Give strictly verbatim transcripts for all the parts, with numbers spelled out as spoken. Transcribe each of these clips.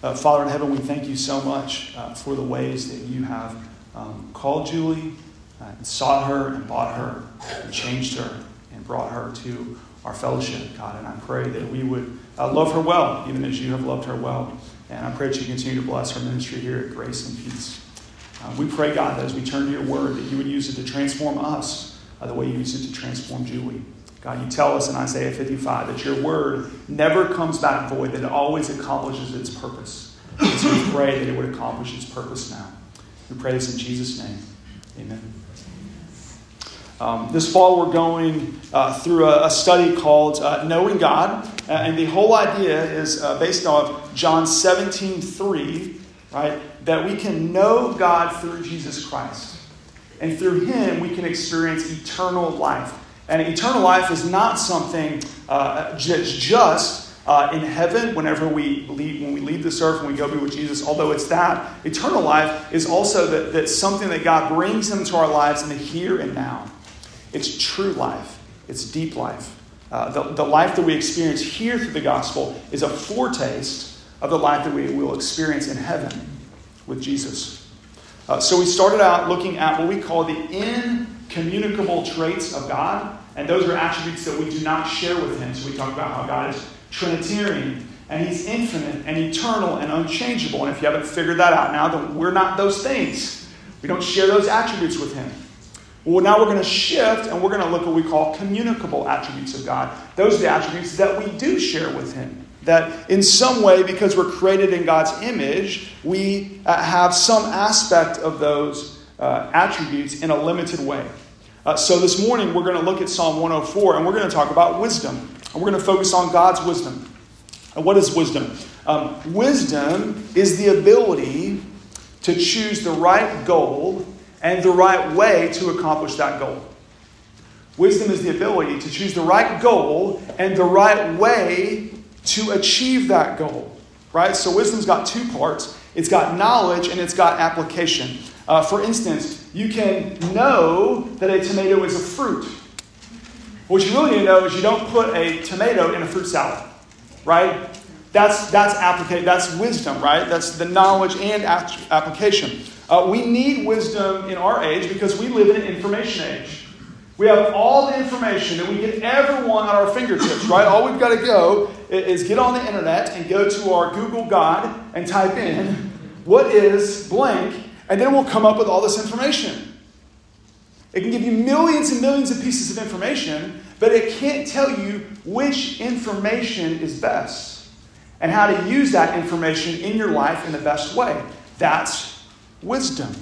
Uh, Father in heaven, we thank you so much uh, for the ways that you have um, called Julie uh, and sought her and bought her and changed her and brought her to our fellowship, God. And I pray that we would uh, love her well, even as you have loved her well. And I pray that you continue to bless her ministry here at Grace and Peace. Uh, we pray, God, that as we turn to your word, that you would use it to transform us uh, the way you use it to transform Julie. God, you tell us in Isaiah fifty-five that your word never comes back void, that it always accomplishes its purpose. And so we pray that it would accomplish its purpose now. We pray this in Jesus' name. Amen. Um, this fall we're going uh, through a, a study called uh, Knowing God. Uh, and the whole idea is uh, based on John seventeen three, right? That we can know God through Jesus Christ. And through him we can experience eternal life. And eternal life is not something uh, just, just uh, in heaven whenever we leave, when we leave this earth and we go be with Jesus. Although it's that, eternal life is also that, that something that God brings into our lives in the here and now. It's true life. It's deep life. Uh, the, the life that we experience here through the gospel is a foretaste of the life that we will experience in heaven with Jesus. Uh, so we started out looking at what we call the incommunicable traits of God. And those are attributes that we do not share with him. So we talked about how God is Trinitarian, and he's infinite and eternal and unchangeable. And if you haven't figured that out now, then we're not those things. We don't share those attributes with him. Well, now we're going to shift, and we're going to look at what we call communicable attributes of God. Those are the attributes that we do share with him. That in some way, because we're created in God's image, we have some aspect of those uh, attributes in a limited way. Uh, so this morning, we're going to look at Psalm one oh four, and we're going to talk about wisdom. And we're going to focus on God's wisdom. And what is wisdom? Um, wisdom is the ability to choose the right goal and the right way to accomplish that goal. Wisdom is the ability to choose the right goal and the right way to achieve that goal. Right? So wisdom's got two parts. It's got knowledge and it's got application. Uh, for instance, you can know that a tomato is a fruit. What you really need to know is you don't put a tomato in a fruit salad. Right? That's that's applica- That's wisdom, right? That's the knowledge and ap- application. Uh, we need wisdom in our age because we live in an information age. We have all the information that we could ever want at our fingertips, right? All we've got to go is get on the internet and go to our Google God and type in, what is blank, and then we'll come up with all this information. It can give you millions and millions of pieces of information, but it can't tell you which information is best and how to use that information in your life in the best way. That's wisdom,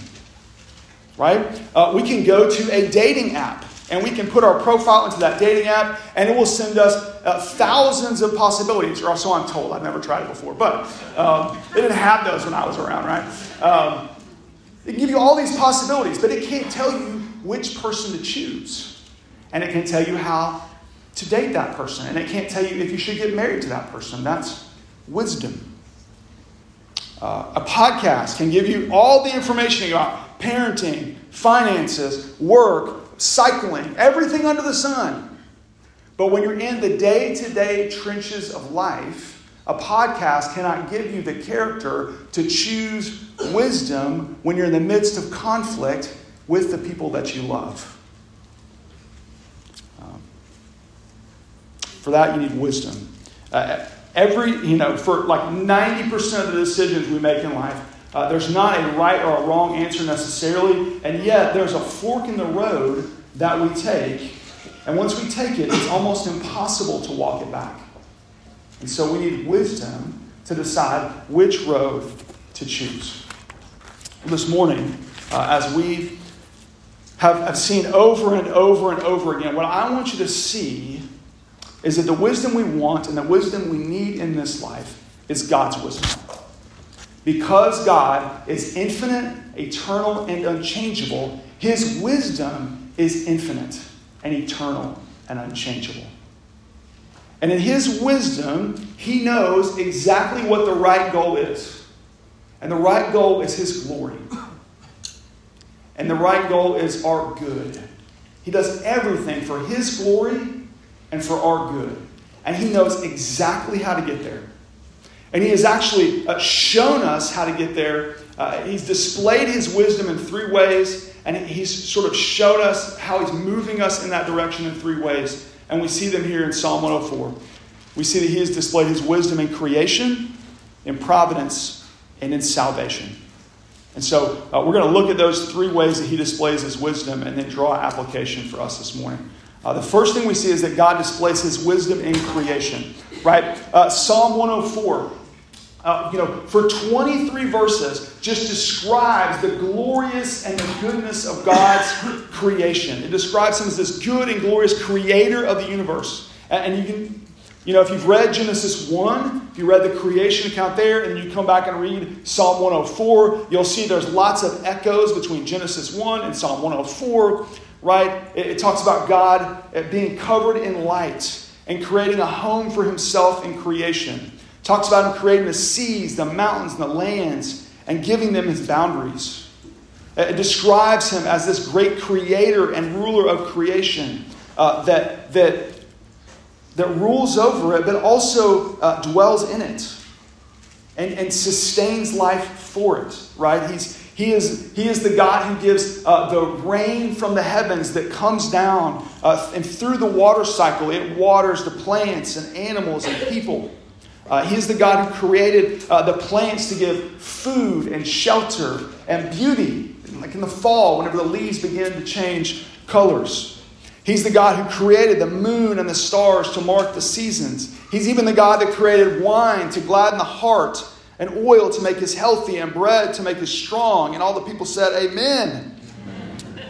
right? Uh, we can go to a dating app and we can put our profile into that dating app and it will send us uh, thousands of possibilities, or so I'm told. I've never tried it before, but um, they didn't have those when I was around, right? Um, it can give you all these possibilities, but it can't tell you which person to choose. And it can tell you how to date that person. And it can't tell you if you should get married to that person. That's wisdom. Uh, a podcast can give you all the information about parenting, finances, work, cycling, everything under the sun. But when you're in the day-to-day trenches of life, a podcast cannot give you the character to choose wisdom when you're in the midst of conflict with the people that you love. Um, for that, you need wisdom. Uh, Every, you know, for like ninety percent of the decisions we make in life, uh, there's not a right or a wrong answer necessarily, and yet there's a fork in the road that we take, and once we take it, it's almost impossible to walk it back. And so we need wisdom to decide which road to choose. This morning, uh, as we have, have seen over and over and over again, what I want you to see is that the wisdom we want and the wisdom we need in this life is God's wisdom. Because God is infinite, eternal, and unchangeable, his wisdom is infinite and eternal and unchangeable. And in his wisdom, he knows exactly what the right goal is. And the right goal is his glory. And the right goal is our good. He does everything for his glory and for our good. And he knows exactly how to get there. And he has actually uh, shown us how to get there. Uh, he's displayed his wisdom in three ways, and he's sort of showed us how he's moving us in that direction in three ways. And we see them here in Psalm one oh four. We see that he has displayed his wisdom in creation, in providence, and in salvation. And so uh, we're going to look at those three ways that he displays his wisdom and then draw application for us this morning. Uh, the first thing we see is that God displays his wisdom in creation. Right? Uh, Psalm one oh four, uh, you know, for twenty-three verses, just describes the glorious and the goodness of God's creation. It describes him as this good and glorious creator of the universe. And you can, you know, if you've read Genesis one, if you read the creation account there, and you come back and read Psalm one oh four, you'll see there's lots of echoes between Genesis one and Psalm one oh four, right? It, it talks about God being covered in light and creating a home for himself in creation. It talks about him creating the seas, the mountains, and the lands, and giving them his boundaries. It describes him as this great creator and ruler of creation uh, that, that, that rules over it, but also uh, dwells in it and, and sustains life for it, right? He's, he, is, he is the God who gives uh, the rain from the heavens that comes down, uh, and through the water cycle, it waters the plants and animals and people. Uh, he is the God who created uh, the plants to give food and shelter and beauty, like in the fall, whenever the leaves begin to change colors. He's the God who created the moon and the stars to mark the seasons. He's even the God that created wine to gladden the heart, and oil to make us healthy, and bread to make us strong. And all the people said, Amen. Amen.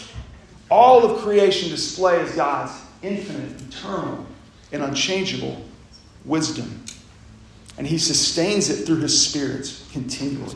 All of creation displays God's infinite, eternal, and unchangeable wisdom. And he sustains it through his Spirit continually.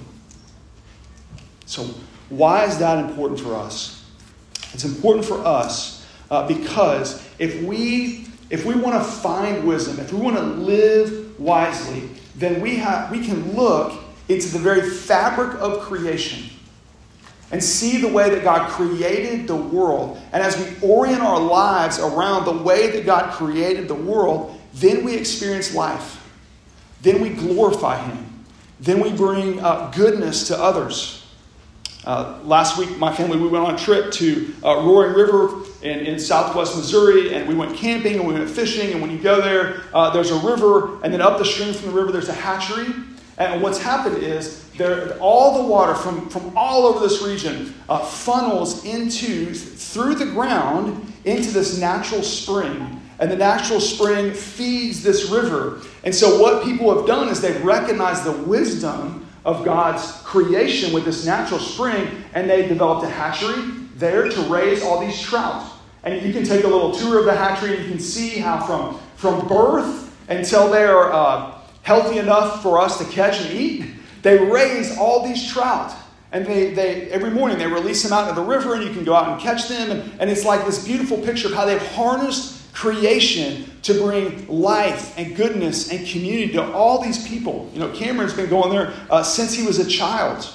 So why is that important for us? It's important for us uh, because if we if we want to find wisdom, if we want to live wisely, then we have we can look into the very fabric of creation and see the way that God created the world. And as we orient our lives around the way that God created the world, then we experience life. Then we glorify him. Then we bring uh, goodness to others. Uh, last week, my family, we went on a trip to uh, Roaring River in, in southwest Missouri, and we went camping and we went fishing. And when you go there, uh, there's a river, and then up the stream from the river, there's a hatchery. And what's happened is there, all the water from, from all over this region uh, funnels into, through the ground, into this natural spring. And the natural spring feeds this river. And so what people have done is they've recognized the wisdom of God's creation with this natural spring, and they developed a hatchery there to raise all these trout. And you can take a little tour of the hatchery, and you can see how from, from birth until they are uh, healthy enough for us to catch and eat, they raise all these trout. And they, they every morning they release them out into the river, and you can go out and catch them. And, and it's like this beautiful picture of how they've harnessed creation to bring life and goodness and community to all these people. You know, Cameron's been going there uh, since he was a child.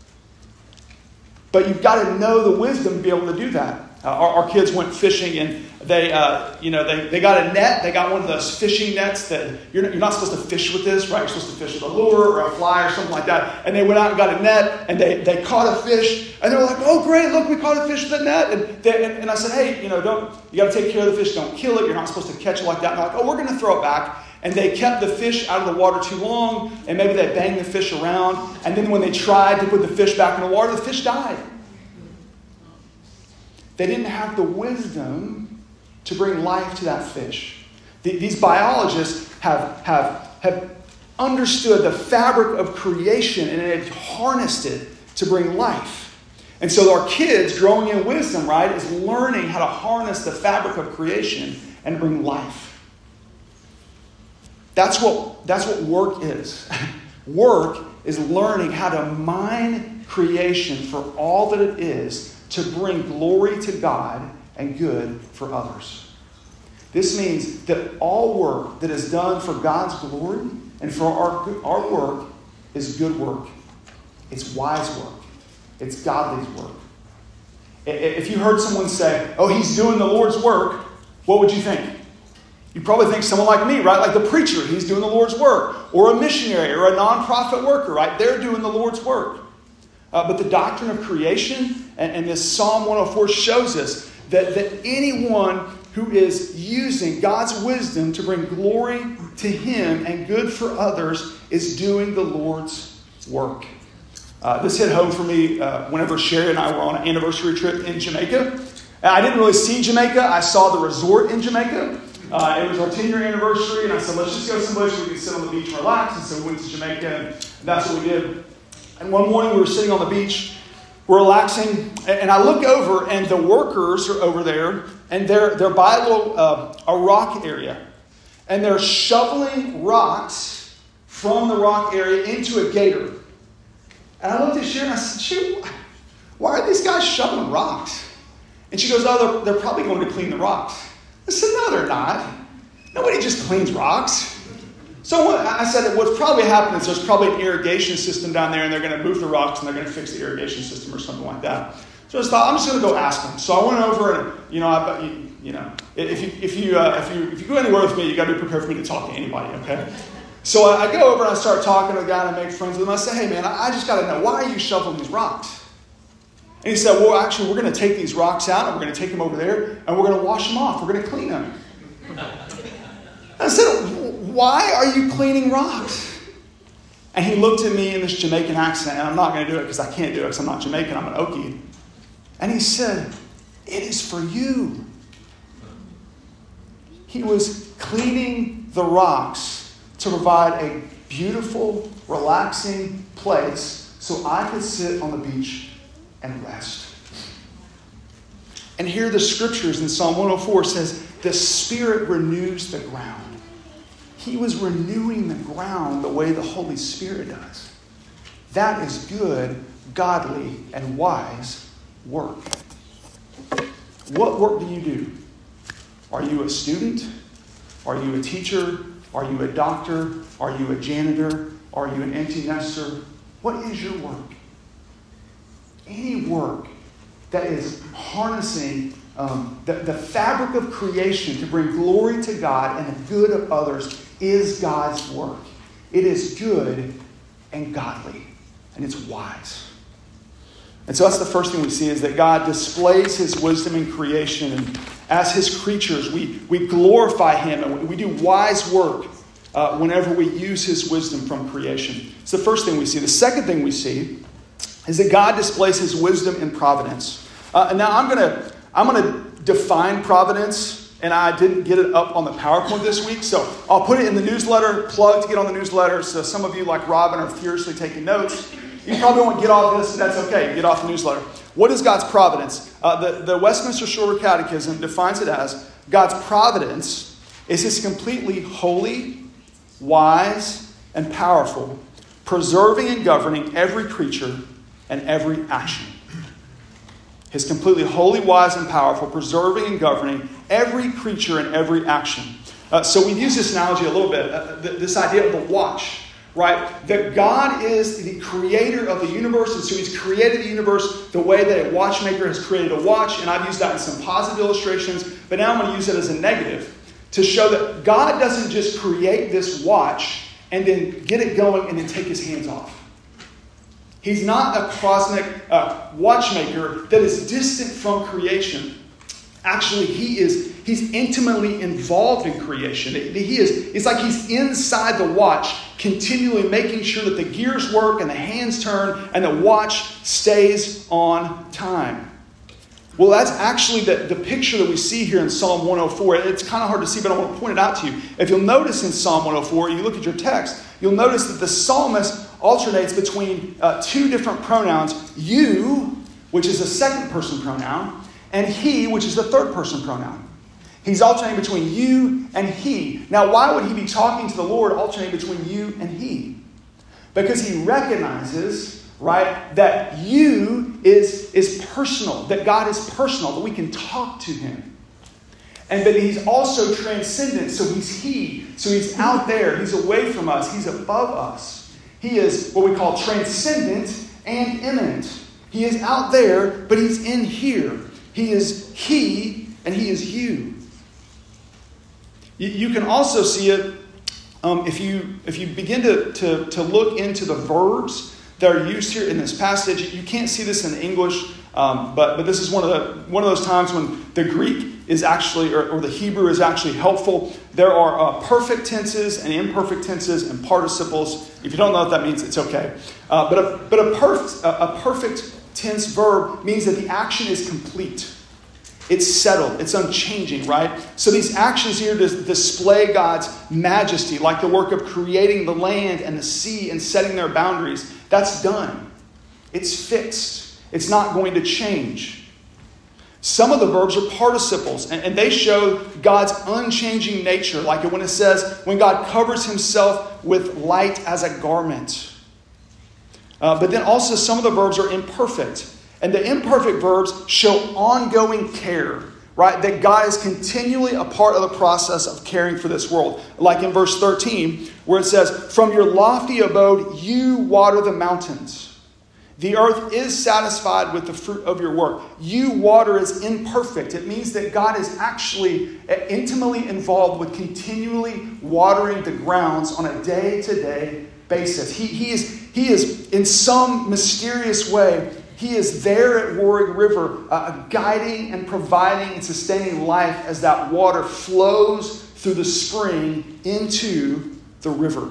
But you've got to know the wisdom to be able to do that. Uh, our, our kids went fishing, and they, uh, you know, they, they got a net. They got one of those fishing nets that you're not, you're not supposed to fish with this, right? You're supposed to fish with a lure or a fly or something like that. And they went out and got a net, and they, they caught a fish. And they were like, "Oh, great! Look, we caught a fish with a net." And, they, and, and I said, "Hey, you know, don't you got to take care of the fish? Don't kill it. You're not supposed to catch it like that." And they're like, "Oh, we're going to throw it back." And they kept the fish out of the water too long, and maybe they banged the fish around. And then when they tried to put the fish back in the water, the fish died. They didn't have the wisdom to bring life to that fish. The, these biologists have, have, have understood the fabric of creation, and they've harnessed it to bring life. And so our kids growing in wisdom, right, is learning how to harness the fabric of creation and bring life. That's what, that's what work is. Work is learning how to mine creation for all that it is to bring glory to God and good for others. This means that all work that is done for God's glory and for our, our work is good work. It's wise work. It's godly work. If you heard someone say, "Oh, he's doing the Lord's work," what would you think? You probably think someone like me, right? Like the preacher, he's doing the Lord's work. Or a missionary or a nonprofit worker, right? They're doing the Lord's work. Uh, but the doctrine of creation and, and this Psalm one oh four shows us that, that anyone who is using God's wisdom to bring glory to Him and good for others is doing the Lord's work. Uh, this hit home for me uh, whenever Sherry and I were on an anniversary trip in Jamaica. And I didn't really see Jamaica. I saw the resort in Jamaica. Uh, it was our ten-year anniversary, and I said, let's just go someplace where we can sit on the beach and relax. And so we went to Jamaica, and that's what we did. And one morning we were sitting on the beach, we're relaxing, and I look over, and the workers are over there, and they're they're by a little uh, a rock area, and they're shoveling rocks from the rock area into a gator. And I looked at Sharon and I said, shoot, why are these guys shoveling rocks? And she goes, oh, they're, they're probably going to clean the rocks. I said, no, they're not. Nobody just cleans rocks. So what, I said, what's probably happening is there's probably an irrigation system down there, and they're going to move the rocks, and they're going to fix the irrigation system or something like that. So I just thought, I'm just going to go ask them. So I went over, and you know, I, you, you know, if you if you uh, if you if you go anywhere with me, you got to be prepared for me to talk to anybody. Okay. So I, I go over and I start talking to the guy, and I make friends with him. I say, hey man, I, I just got to know, why are you shoveling these rocks? And he said, well, actually, we're going to take these rocks out, and we're going to take them over there, and we're going to wash them off. We're going to clean them. I said, why are you cleaning rocks? And he looked at me in this Jamaican accent, and I'm not going to do it because I can't do it because I'm not Jamaican, I'm an Okie. And he said, it is for you. He was cleaning the rocks to provide a beautiful, relaxing place so I could sit on the beach and rest. And here the scriptures in Psalm one oh four says, the Spirit renews the ground. He was renewing the ground the way the Holy Spirit does. That is good, godly, and wise work. What work do you do? Are you a student? Are you a teacher? Are you a doctor? Are you a janitor? Are you an empty nester? What is your work? Any work that is harnessing um, the, the fabric of creation to bring glory to God and the good of others is God's work. It is good and godly, and it's wise. And so that's the first thing we see, is that God displays His wisdom in creation, and as His creatures, we, we glorify Him, and we do wise work uh, whenever we use His wisdom from creation. It's the first thing we see. The second thing we see is that God displays His wisdom in providence. Uh, and now I'm going to I'm going to define providence, and I didn't get it up on the PowerPoint this week, so I'll put it in the newsletter, plug to get on the newsletter. So some of you, like Robin, are furiously taking notes. You probably won't get off this, and that's okay. Get off the newsletter. What is God's providence? Uh, the, the Westminster Shorter Catechism defines it as, God's providence is His completely holy, wise, and powerful, preserving and governing every creature and every action. His completely holy, wise, and powerful, preserving and governing every creature and every action. Uh, so we use this analogy a little bit, uh, th- this idea of the watch, right? That God is the creator of the universe, and so He's created the universe the way that a watchmaker has created a watch, and I've used that in some positive illustrations, but now I'm going to use it as a negative to show that God doesn't just create this watch and then get it going and then take His hands off. He's not a cosmic uh, watchmaker that is distant from creation. Actually, he is he's intimately involved in creation. He is, it's like He's inside the watch, continually making sure that the gears work and the hands turn and the watch stays on time. Well, that's actually the, the picture that we see here in Psalm one oh four. It's kind of hard to see, but I want to point it out to you. If you'll notice in Psalm one oh four, you look at your text, you'll notice that the psalmist alternates between uh, two different pronouns, you, which is a second person pronoun, and he, which is the third person pronoun. He's alternating between you and he. Now, why would he be talking to the Lord alternating between you and he? Because he recognizes, right, that you is, is personal, that God is personal, that we can talk to Him. And that He's also transcendent, so He's He. So He's out there, He's away from us, He's above us. He is what we call transcendent and immanent. He is out there, but He's in here. He is He, and He is you. You, you can also see it um, if you if you begin to, to, to look into the verbs that are used here in this passage. You can't see this in English, um, but but this is one of the one of those times when the Greek is actually, or, or the Hebrew is actually helpful. There are uh, perfect tenses and imperfect tenses and participles. If you don't know what that means, it's okay. Uh, but a, but a, perf- a, a perfect tense verb means that the action is complete. It's settled. It's unchanging, right? So these actions here display God's majesty, like the work of creating the land and the sea and setting their boundaries. That's done. It's fixed. It's not going to change. Some of the verbs are participles, and, and they show God's unchanging nature, like when it says, when God covers himself with light as a garment. Uh, but then also some of the verbs are imperfect. And the imperfect verbs show ongoing care, right? That God is continually a part of the process of caring for this world. Like in verse thirteen, where it says, from your lofty abode, you water the mountains. The earth is satisfied with the fruit of your work. You water is imperfect. It means that God is actually intimately involved with continually watering the grounds on a day-to-day basis. He, he, is, he is, in some mysterious way, he is there at Warwick River, uh, guiding and providing and sustaining life as that water flows through the spring into the river.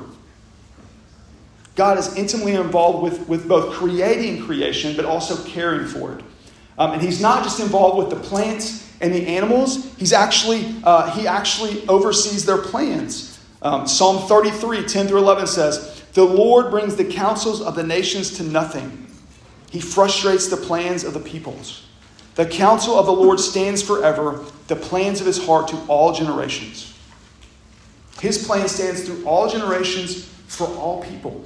God is intimately involved with, with both creating creation, but also caring for it. Um, and he's not just involved with the plants and the animals. He's actually uh, he actually oversees their plans. Um, Psalm thirty-three, ten through eleven says, the Lord brings the counsels of the nations to nothing. He frustrates the plans of the peoples. The counsel of the Lord stands forever, the plans of his heart to all generations. His plan stands through all generations for all people.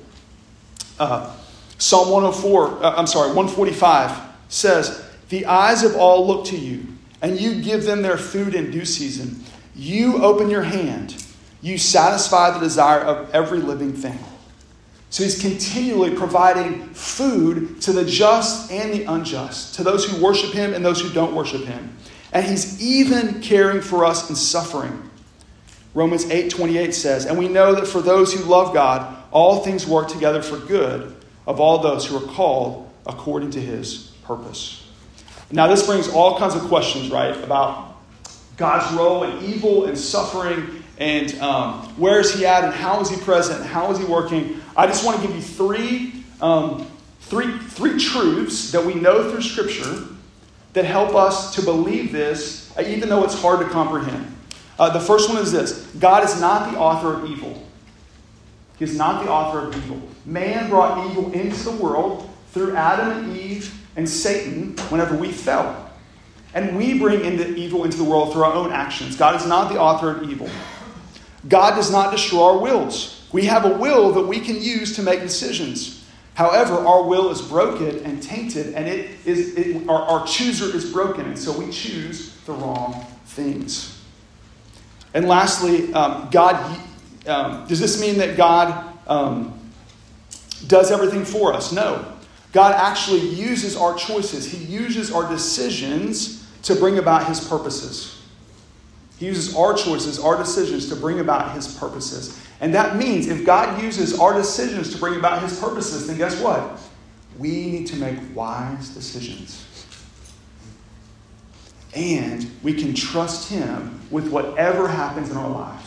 Uh, Psalm one oh four, uh, I'm sorry, one forty-five says, the eyes of all look to you, and you give them their food in due season. You open your hand. You satisfy the desire of every living thing. So he's continually providing food to the just and the unjust, to those who worship him and those who don't worship him. And he's even caring for us in suffering. Romans eight twenty-eight says, and we know that for those who love God, all things work together for good of all those who are called according to his purpose. Now this brings all kinds of questions, right, about God's role in evil and suffering, and um, where is he at, and how is he present, and how is he working. I just want to give you three, um, three, three truths that we know through Scripture that help us to believe this, even though it's hard to comprehend. Uh, the first one is this. God is not the author of evil. He is not the author of evil. Man brought evil into the world through Adam and Eve and Satan whenever we fell. And we bring into evil into the world through our own actions. God is not the author of evil. God does not destroy our wills. We have a will that we can use to make decisions. However, our will is broken and tainted, and it is it, our, our chooser is broken, and so we choose the wrong things. And lastly, um, God, um, does this mean that God um, does everything for us? No. God actually uses our choices. He uses our decisions to bring about his purposes. He uses our choices, our decisions to bring about his purposes. And that means if God uses our decisions to bring about his purposes, then guess what? We need to make wise decisions. And we can trust him with whatever happens in our lives.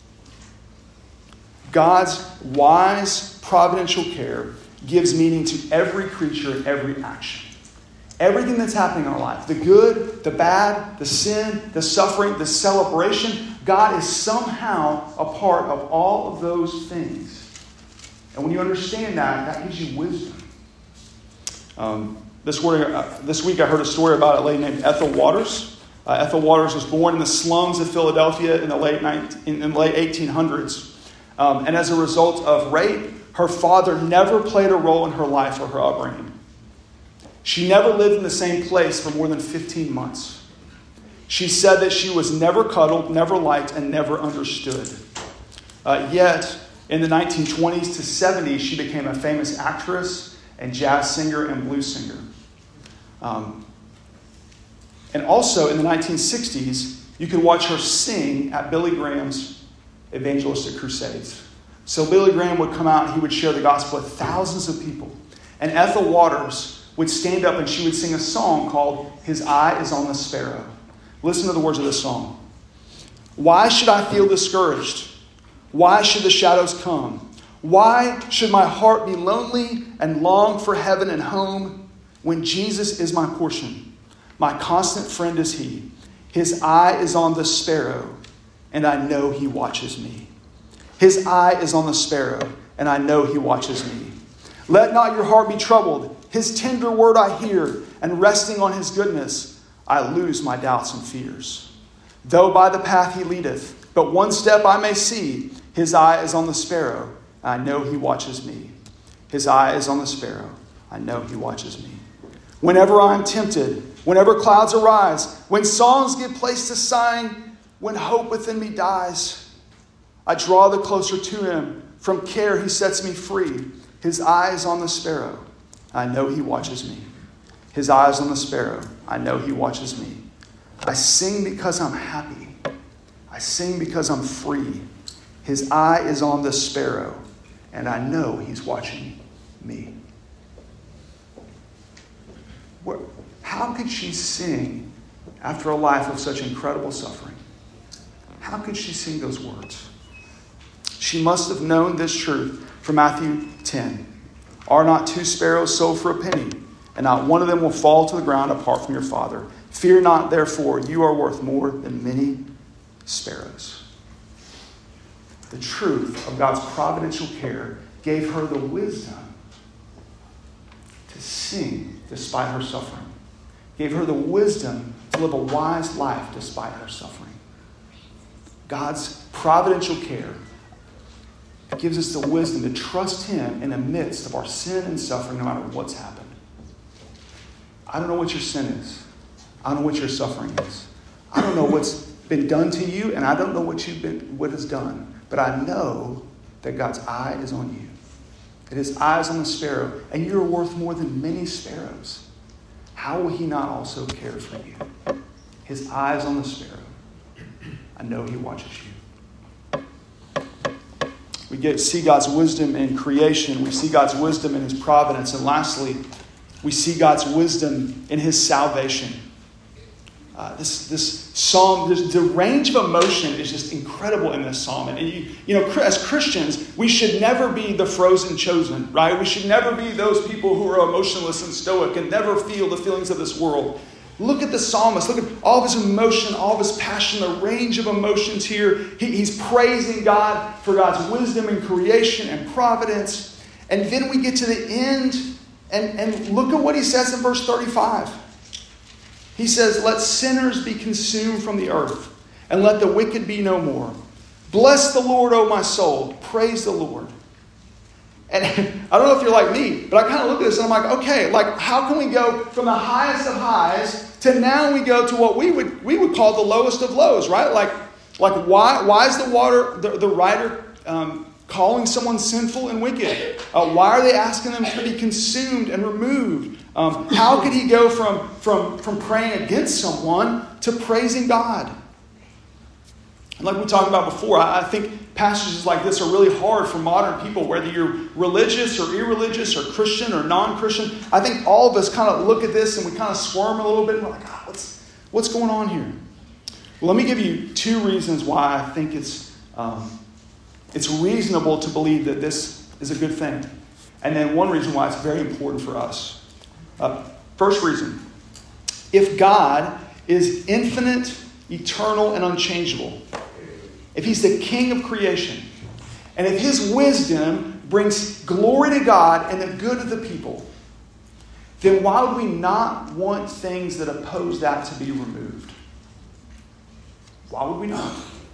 God's wise, providential care gives meaning to every creature and every action. Everything that's happening in our life, the good, the bad, the sin, the suffering, the celebration, God is somehow a part of all of those things. And when you understand that, that gives you wisdom. Um, this, word, uh, this week I heard a story about a lady named Ethel Waters. Uh, Ethel Waters was born in the slums of Philadelphia in the late, nineteen, in, in the late eighteen hundreds. Um, and as a result of rape, her father never played a role in her life or her upbringing. She never lived in the same place for more than fifteen months. She said that she was never cuddled, never liked, and never understood. Uh, yet, in the nineteen twenties to seventies, she became a famous actress and jazz singer and blues singer. Um, and also, in the nineteen sixties, You could watch her sing at Billy Graham's evangelistic crusades. So Billy Graham would come out and he would share the gospel with thousands of people. And Ethel Waters would stand up and she would sing a song called His Eye is on the Sparrow. Listen to the words of this song. Why should I feel discouraged? Why should the shadows come? Why should my heart be lonely and long for heaven and home when Jesus is my portion? My constant friend is He. His eye is on the sparrow, and I know He watches me. His eye is on the sparrow, and I know He watches me. Let not your heart be troubled. His tender word I hear, and resting on His goodness, I lose my doubts and fears. Though by the path He leadeth, but one step I may see, His eye is on the sparrow, and I know He watches me. His eye is on the sparrow, I know He watches me. Whenever I am tempted, whenever clouds arise, when songs give place to sighing, when hope within me dies, I draw the closer to Him. From care He sets me free. His eye is on the sparrow. I know He watches me. His eye is on the sparrow. I know He watches me. I sing because I'm happy. I sing because I'm free. His eye is on the sparrow, and I know He's watching me. Where, how could she sing after a life of such incredible suffering? How could she sing those words? She must have known this truth from Matthew ten. Are not two sparrows sold for a penny, and not one of them will fall to the ground apart from your Father? Fear not, therefore, you are worth more than many sparrows. The truth of God's providential care gave her the wisdom to sing despite her suffering. Gave her the wisdom to live a wise life despite her suffering. God's providential care gives us the wisdom to trust Him in the midst of our sin and suffering, no matter what's happened. I don't know what your sin is. I don't know what your suffering is. I don't know what's been done to you, and I don't know what you've been, what is done. But I know that God's eye is on you. That His eye is on the sparrow, and you're worth more than many sparrows. How will He not also care for you? His eye is on the sparrow. I know He watches you. We get see God's wisdom in creation. We see God's wisdom in His providence. And lastly, we see God's wisdom in His salvation. Uh, this this psalm, this, the range of emotion is just incredible in this psalm. And you, you know, as Christians, we should never be the frozen chosen, right? We should never be those people who are emotionless and stoic and never feel the feelings of this world. Look at the psalmist. Look at all of his emotion, all of his passion, the range of emotions here. He, he's praising God for God's wisdom in creation and providence. And then we get to the end, and, and look at what he says in verse thirty-five. He says, let sinners be consumed from the earth, and let the wicked be no more. Bless the Lord, O my soul. Praise the Lord. And I don't know if you're like me, but I kind of look at this and I'm like, okay, like how can we go from the highest of highs to now we go to what we would we would call the lowest of lows, right? Like, like why why is the water the, the writer um, calling someone sinful and wicked? Uh, why are they asking them to be consumed and removed? Um, how could he go from, from, from praying against someone to praising God? And like we talked about before, I, I think passages like this are really hard for modern people, whether you're religious or irreligious or Christian or non-Christian. I think all of us kind of look at this and we kind of squirm a little bit and we're like, oh, what's, what's going on here? Well, let me give you two reasons why I think it's, um, it's reasonable to believe that this is a good thing. And then one reason why it's very important for us. Uh, first reason, if God is infinite, eternal, and unchangeable, if He's the King of creation, and if His wisdom brings glory to God and the good of the people, then why would we not want things that oppose that to be removed? Why would we not?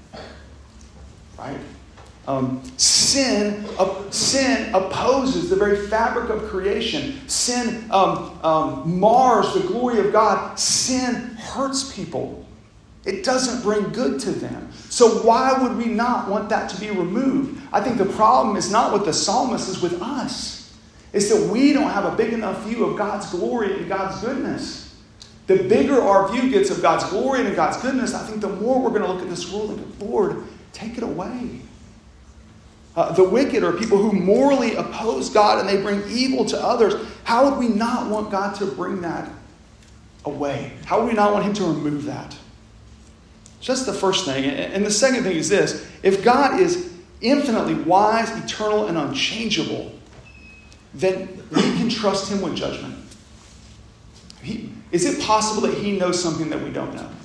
Right? Um, sin, uh, sin opposes the very fabric of creation. Sin um, um, mars the glory of God. Sin hurts people. It doesn't bring good to them. So why would we not want that to be removed? I think the problem is not with the psalmist, it's with us. It's that we don't have a big enough view of God's glory and God's goodness. the bigger our view gets of God's glory and of God's goodness, I think the more we're going to look at this world and go, Lord, take it away. Uh, the wicked are people who morally oppose God and they bring evil to others. How would we not want God to bring that away? How would we not want him to remove that? So that's the first thing. And the second thing is this. If God is infinitely wise, eternal, and unchangeable, then we can trust him with judgment. He, is it possible that he knows something that we don't know?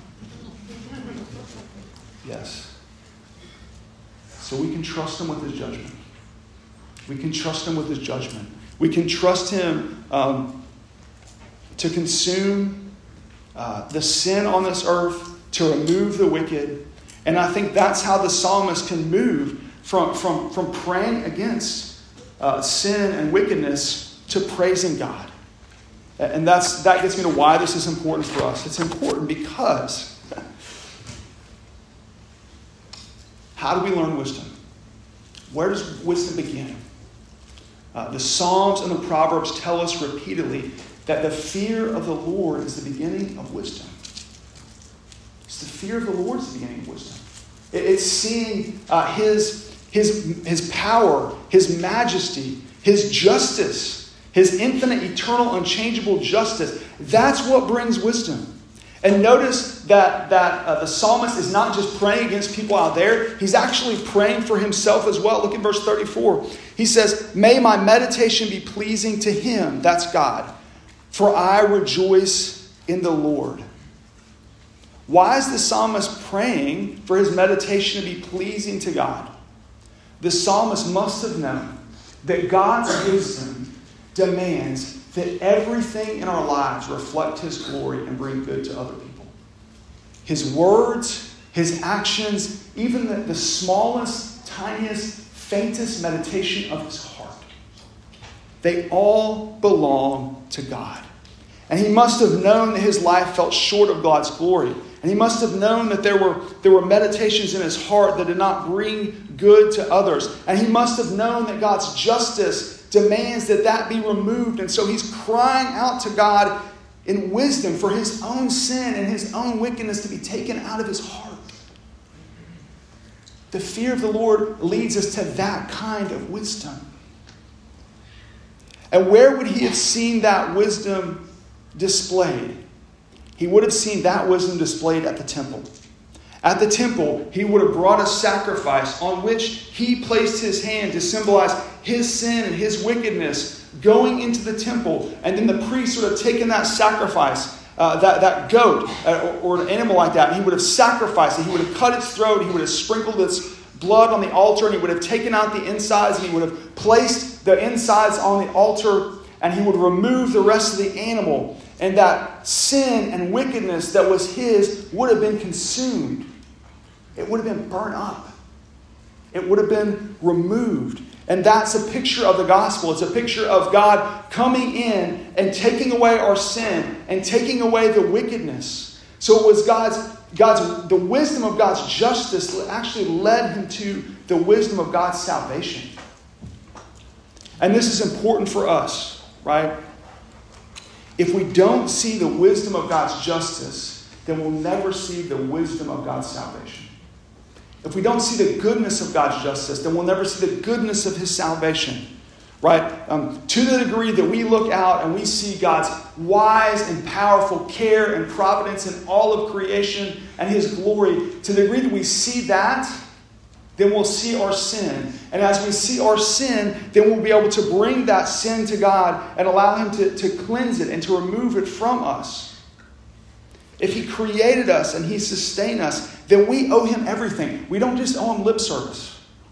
Yes. So we can trust him with his judgment. We can trust him with his judgment. We can trust him um, to consume uh, the sin on this earth, to remove the wicked. And I think that's how the psalmist can move from, from, from praying against uh, sin and wickedness to praising God. And that's that gets me to why this is important for us. It's important because how do we learn wisdom? Where does wisdom begin? Uh, the Psalms and the Proverbs tell us repeatedly that the fear of the Lord is the beginning of wisdom. It's the fear of the Lord is the beginning of wisdom. It, it's seeing uh, his, his, his power, his majesty, his justice, his infinite, eternal, unchangeable justice. That's what brings wisdom. And notice that, that uh, the psalmist is not just praying against people out there. He's actually praying for himself as well. Look at verse thirty-four. He says, may my meditation be pleasing to him, that's God, for I rejoice in the Lord. Why is the psalmist praying for his meditation to be pleasing to God? The psalmist must have known that God's wisdom demands that everything in our lives reflect his glory and bring good to other people. His words, his actions, even the, the smallest, tiniest, faintest meditation of his heart, they all belong to God. And he must have known that his life fell short of God's glory. And he must have known that there were, there were meditations in his heart that did not bring good to others. And he must have known that God's justice demands that that be removed. And so he's crying out to God in wisdom for his own sin and his own wickedness to be taken out of his heart. The fear of the Lord leads us to that kind of wisdom. And where would he have seen that wisdom displayed? He would have seen that wisdom displayed at the temple. At the temple, he would have brought a sacrifice on which he placed his hand to symbolize his sin and his wickedness going into the temple. And then the priest would have taken that sacrifice, uh, that, that goat uh, or, or an animal like that, and he would have sacrificed it. He would have cut its throat. He would have sprinkled its blood on the altar, and he would have taken out the insides, and he would have placed the insides on the altar, and he would remove the rest of the animal. And that sin and wickedness that was his would have been consumed. It would have been burnt up. It would have been removed. And that's a picture of the gospel. It's a picture of God coming in and taking away our sin and taking away the wickedness. So it was God's, God's, the wisdom of God's justice that actually led him to the wisdom of God's salvation. And this is important for us, right? If we don't see the wisdom of God's justice, then we'll never see the wisdom of God's salvation. If we don't see the goodness of God's justice, then we'll never see the goodness of his salvation. Right? Um, to the degree that we look out and we see God's wise and powerful care and providence in all of creation and his glory, to the degree that we see that, then we'll see our sin. And as we see our sin, then we'll be able to bring that sin to God and allow him to, to cleanse it and to remove it from us. If he created us and he sustained us, then we owe him everything. We don't just owe him lip service.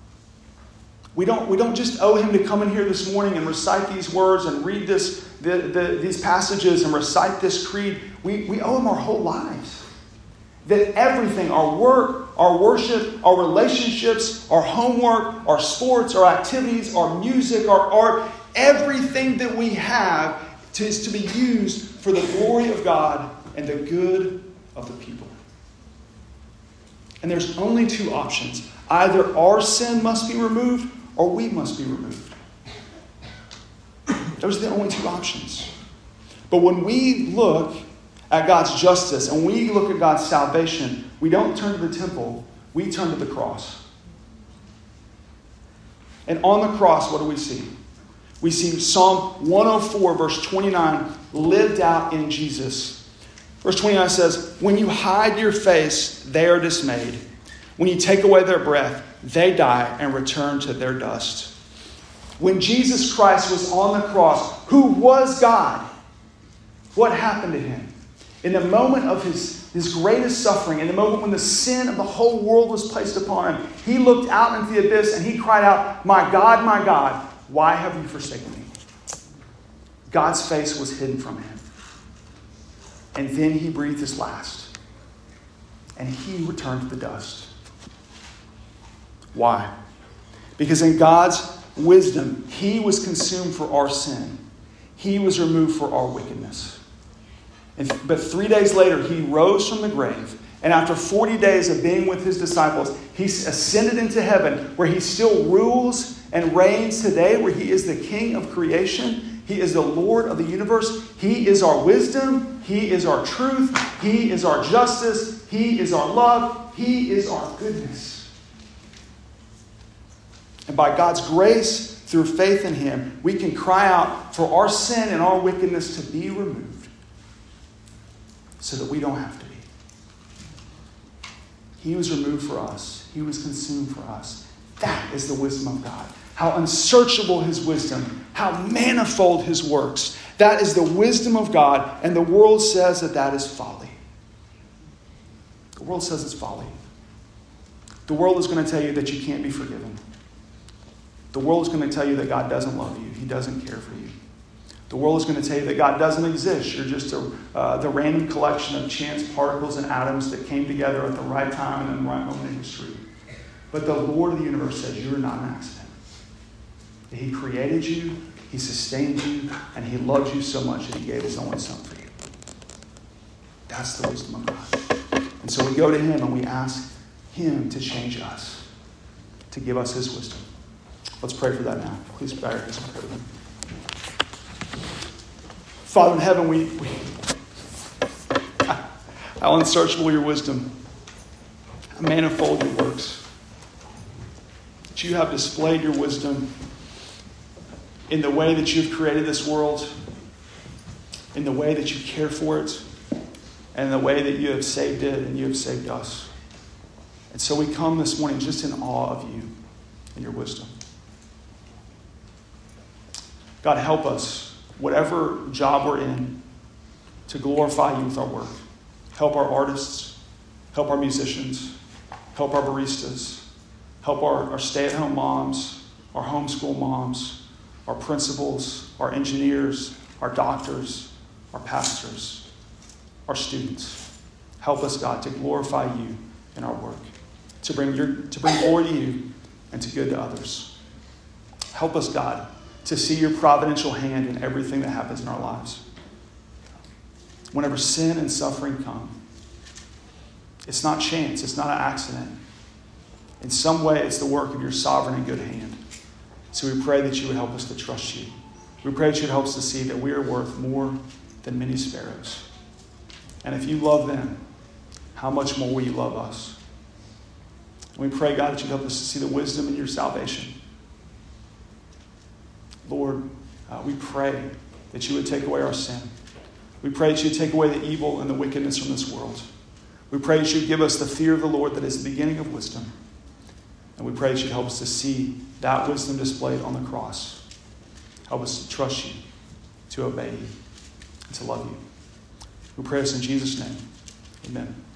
We don't, we don't just owe him to come in here this morning and recite these words and read this, the, the, these passages and recite this creed. We, we owe him our whole lives. That everything, our work, our worship, our relationships, our homework, our sports, our activities, our music, our art, everything that we have is to be used for the glory of God and the good of the people. And there's only two options. Either our sin must be removed or we must be removed. Those are the only two options. But when we look at God's justice, and we look at God's salvation, we don't turn to the temple, we turn to the cross. And on the cross, what do we see? We see Psalm one oh four, verse twenty-nine, lived out in Jesus. Verse twenty-nine says, when you hide your face, they are dismayed. When you take away their breath, they die and return to their dust. When Jesus Christ was on the cross, who was God, what happened to him? In the moment of his, his greatest suffering, in the moment when the sin of the whole world was placed upon him, he looked out into the abyss and he cried out, my God, my God, why have you forsaken me? God's face was hidden from him. And then he breathed his last. And he returned to the dust. Why? Because in God's wisdom, he was consumed for our sin. He was removed for our wickedness. And, but three days later, he rose from the grave. And after forty days of being with his disciples, he ascended into heaven, where he still rules and reigns today, where he is the king of creation. He is the Lord of the universe. He is our wisdom. He is our truth. He is our justice. He is our love. He is our goodness. And by God's grace, through faith in him, we can cry out for our sin and our wickedness to be removed so that we don't have to be. He was removed for us. He was consumed for us. That is the wisdom of God. How unsearchable his wisdom. How manifold his works. That is the wisdom of God. And the world says that that is folly. The world says it's folly. The world is going to tell you that you can't be forgiven. The world is going to tell you that God doesn't love you. He doesn't care for you. The world is going to tell you that God doesn't exist. You're just a, uh, the random collection of chance particles and atoms that came together at the right time and in the right moment in history. But the Lord of the universe says you're not an accident. That he created you, he sustained you, and he loved you so much that he gave his only son for you. That's the wisdom of God. And so we go to him and we ask him to change us, to give us his wisdom. Let's pray for that now. Please bow your heads and pray with me. Father in heaven, we, we how unsearchable your wisdom, how manifold your works. That you have displayed your wisdom in the way that you've created this world, in the way that you care for it, and in the way that you have saved it and you have saved us. And so we come this morning just in awe of you and your wisdom. God, help us, whatever job we're in, to glorify you with our work. Help our artists, help our musicians, help our baristas, help our, our stay-at-home moms, our homeschool moms, our principals, our engineers, our doctors, our pastors, our students. Help us, God, to glorify you in our work, to bring your, to bring glory to you and to good to others. Help us, God, to see your providential hand in everything that happens in our lives. Whenever sin and suffering come, it's not chance, it's not an accident. In some way, it's the work of your sovereign and good hand. So we pray that you would help us to trust you. We pray that you would help us to see that we are worth more than many sparrows. And if you love them, how much more will you love us? And we pray, God, that you help us to see the wisdom in your salvation. Lord, uh, we pray that you would take away our sin. We pray that you would take away the evil and the wickedness from this world. We pray that you would give us the fear of the Lord that is the beginning of wisdom. And we pray that you would help us to see that wisdom displayed on the cross. Help us to trust you, to obey you, and to love you. We pray this in Jesus' name. Amen.